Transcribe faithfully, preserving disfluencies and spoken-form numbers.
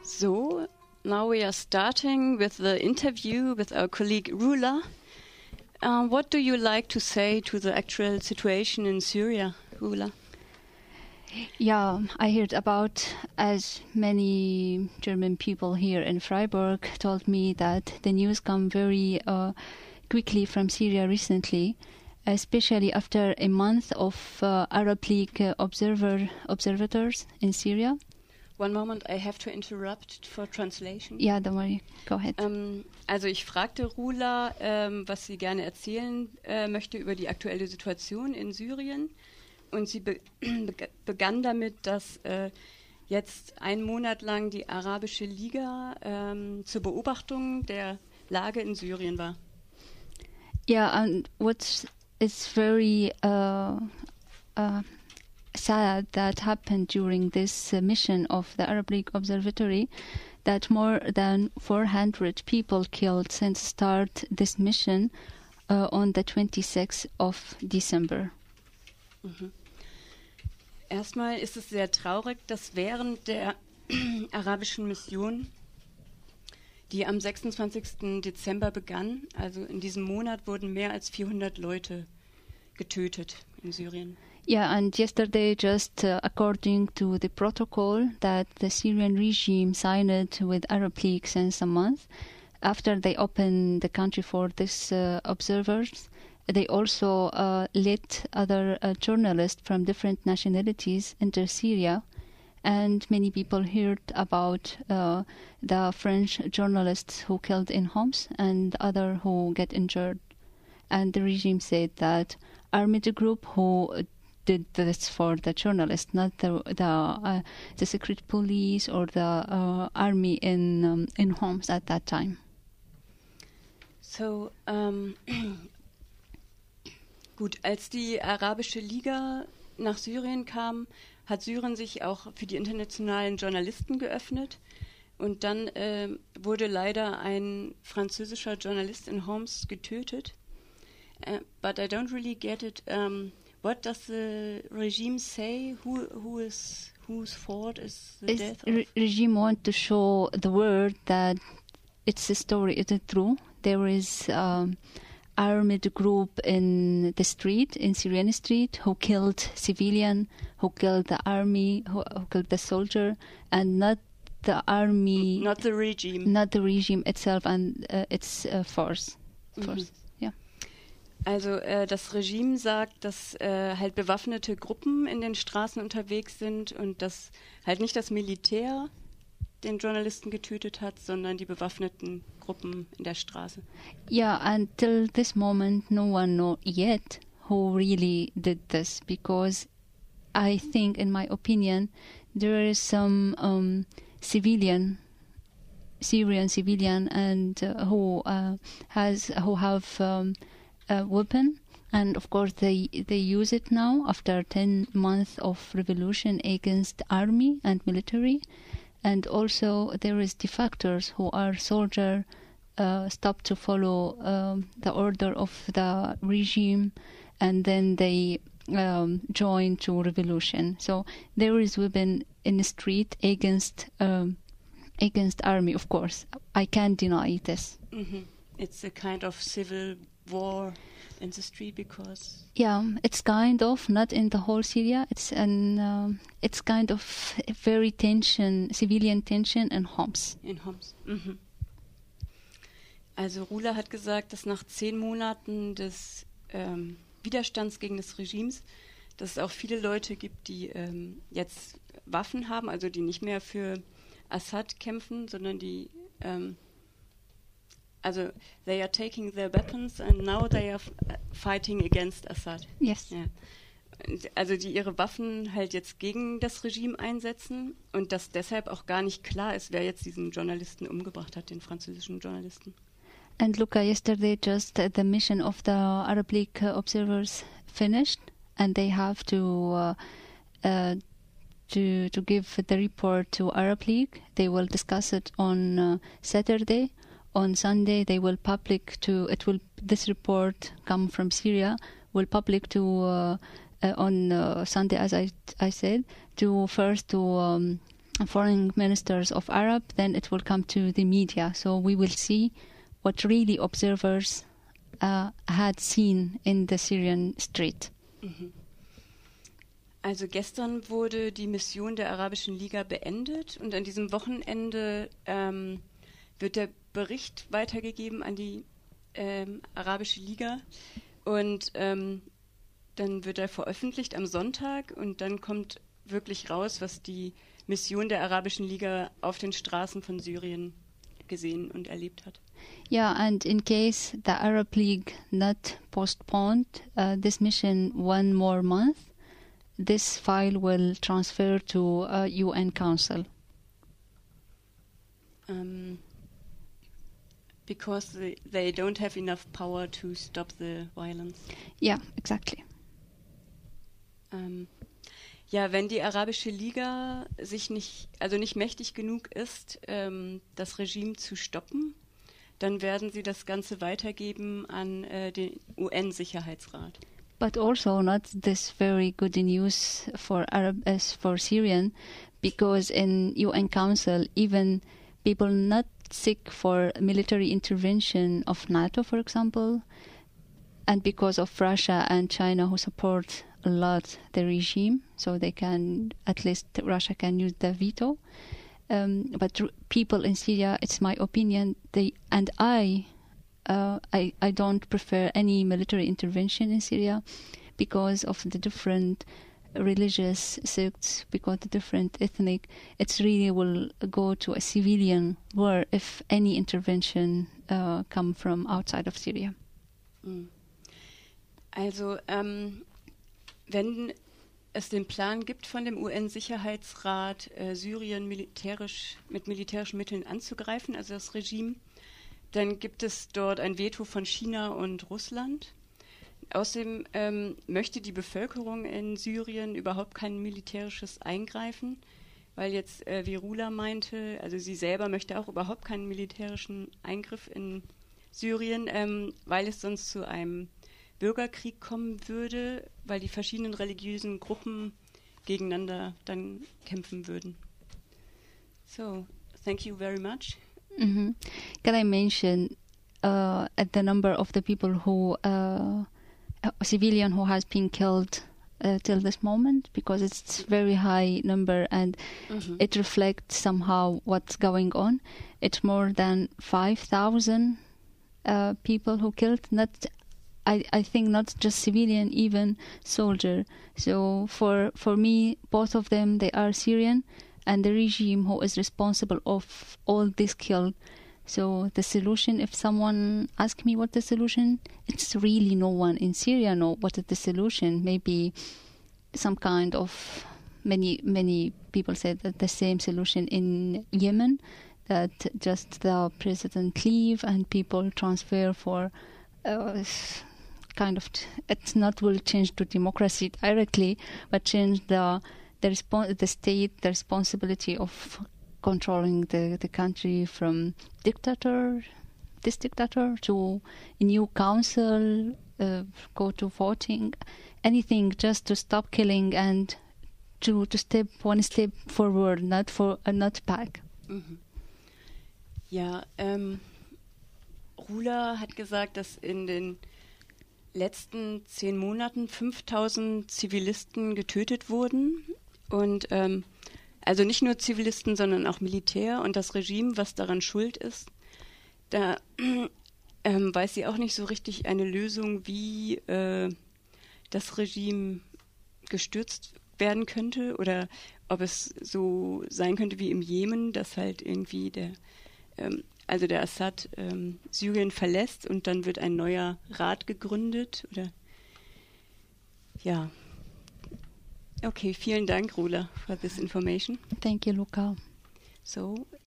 So, now we are starting with the interview with our colleague Rula. Uh, what do you like to say to the actual situation in Syria, Rula? Yeah, I heard about, as many German people here in Freiburg told me, that the news come very uh, quickly from Syria recently, especially after a month of uh, Arab League uh, observer observators in Syria. One moment, I have to interrupt for translation. Yeah, don't worry. Go ahead. Ähm, also ich fragte Rula, ähm, was sie gerne erzählen äh, möchte über die aktuelle Situation in Syrien. Und sie be begann damit, dass äh, jetzt einen Monat lang die Arabische Liga ähm, zur Beobachtung der Lage in Syrien war. Yeah, and what is very uh, uh, sad that happened during this uh, mission of the Arab League Observatory, that more than four hundred people killed since start this mission uh, on the twenty-sixth of December. Mhm. Erstmal ist es sehr traurig, dass während der arabischen Mission, die am sechsundzwanzigsten Dezember begann, also in diesem Monat wurden mehr als vierhundert Leute getötet in Syrien. Yeah, and yesterday, just uh, according to the protocol that the Syrian regime signed with Arab League since a month, after they opened the country for these uh, observers, they also uh, let other uh, journalists from different nationalities enter Syria, and many people heard about uh, the French journalists who killed in Homs and other who get injured. And the regime said that army group who did this for the journalists, not the the, uh, the secret police or the uh, army in um, in Homs at that time. So, um Gut, als die Arabische Liga nach Syrien kam, hat Syrien sich auch für die internationalen Journalisten geöffnet. Und dann äh, wurde leider ein französischer Journalist in Homs getötet. Uh, but I don't really get it. Um, what does the regime say? Who, who is, whose fault is the Is death re- of? regime want to show the world that it's a story, is it true? There is um, armed group in the street, in Syrian street, who killed civilian, who killed the army, who, who killed the soldier, and not the army, Not the regime. not the regime itself and uh, its uh, force. force. Mhm. Yeah. Also äh, das Regime sagt, dass äh, halt bewaffnete Gruppen in den Straßen unterwegs sind und dass halt nicht das Militär den Journalisten getötet hat, sondern die bewaffneten Gruppen in der Straße. Yeah, until this moment, no one know yet who really did this, because I think, in my opinion, there is some um, civilian, Syrian civilian, and uh, who uh, has who have um, a weapon, and of course they they use it now after ten months of revolution against army and military. And also there is defectors who are soldier, uh, stop to follow um, the order of the regime, and then they um, join to revolution. So there is weapon in the street against um, against army. Of course, I can't deny this. Mhm. It's a kind of civil war in the street because Yeah, it's kind of not in the whole Syria. It's an um, it's kind of a very tension, civilian tension in Homs. in Homs. Mhm. Also Rula hat gesagt, dass nach zehn Monaten des ähm, Widerstands gegen das Regimes, dass es auch viele Leute gibt, die ähm, jetzt Waffen haben, also die nicht mehr für Assad kämpfen, sondern die ähm, also they are taking their weapons and now they are f- fighting against Assad. Yes. Ja. Und also die ihre Waffen halt jetzt gegen das Regime einsetzen und dass deshalb auch gar nicht klar ist, wer jetzt diesen Journalisten umgebracht hat, den französischen Journalisten. And Luca, yesterday just uh, the mission of the Arab League uh, observers finished, and they have to uh, uh, to to give the report to Arab League. They will discuss it on uh, Saturday. On Sunday, they will public to it will this report come from Syria will public to uh, uh, on uh, Sunday, as I I said, to first to um, foreign ministers of Arab, then it will come to the media. So we will see what really observers uh, had seen in the Syrian street. Mhm. Also gestern wurde die Mission der Arabischen Liga beendet und an diesem Wochenende ähm, wird der Bericht weitergegeben an die ähm, Arabische Liga und ähm, dann wird er veröffentlicht am Sonntag und dann kommt wirklich raus, was die Mission der Arabischen Liga auf den Straßen von Syrien gesehen und erlebt hat. Yeah, and in case the Arab League not postponed uh, this mission one more month, this file will transfer to uh, U N Council. Um, because they, they don't have enough power to stop the violence. Yeah, exactly. Um, ja, wenn die Arabische Liga sich nicht, also nicht mächtig genug ist, ähm, das Regime zu stoppen, dann werden sie das Ganze weitergeben an äh, den U N-Sicherheitsrat. But also not this very good news for Arab as for Syrian, because in U N Council even people not seek for military intervention of NATO, for example, and because of Russia and China who support a lot the regime, so they can, at least Russia can use the veto. Um, but r- people in Syria, it's my opinion, they and I, uh, I, I don't prefer any military intervention in Syria because of the different religious sects, because the different ethnic. It's really will go to a civilian war if any intervention uh, come from outside of Syria. Mm. Also, ähm, wenn es den Plan gibt von dem U N-Sicherheitsrat, äh, Syrien militärisch mit militärischen Mitteln anzugreifen, also das Regime, dann gibt es dort ein Veto von China und Russland. Außerdem ähm, möchte die Bevölkerung in Syrien überhaupt kein militärisches Eingreifen, weil jetzt, äh, wie Rula meinte, also sie selber möchte auch überhaupt keinen militärischen Eingriff in Syrien, ähm, weil es sonst zu einem Bürgerkrieg kommen würde, weil die verschiedenen religiösen Gruppen gegeneinander dann kämpfen würden. So, thank you very much. Mm-hmm. Can I mention uh, at the number of the people who, uh, a civilian who has been killed uh, till this moment? Because it's very high number and Mm-hmm. it reflects somehow what's going on. It's more than five thousand uh, people who killed, not I, I think not just civilian, even soldier. So for for me, both of them, they are Syrian, and the regime who is responsible of all this killed. So the solution, if someone asks me what the solution, it's really no one in Syria know what is the solution. Maybe some kind of, many many people said that the same solution in Yemen, that just the president leave and people transfer for uh, kind of, t- it's not will change to democracy directly, but change the the respon- the state, the responsibility of controlling the, the country from dictator, this dictator, to a new council, uh, go to voting, anything just to stop killing and to to step one step forward, not for uh, not back. Mhm. Ja, ähm, Rula hat gesagt, dass in den letzten zehn Monaten fünftausend Zivilisten getötet wurden und ähm, also nicht nur Zivilisten, sondern auch Militär und das Regime, was daran schuld ist. Da ähm, weiß sie auch nicht so richtig eine Lösung, wie äh, das Regime gestürzt werden könnte oder ob es so sein könnte wie im Jemen, dass halt irgendwie der ähm, also der Assad ähm, Syrien verlässt und dann wird ein neuer Rat gegründet oder ja. Okay, vielen Dank, Rula, for this information. Thank you, Luca. So,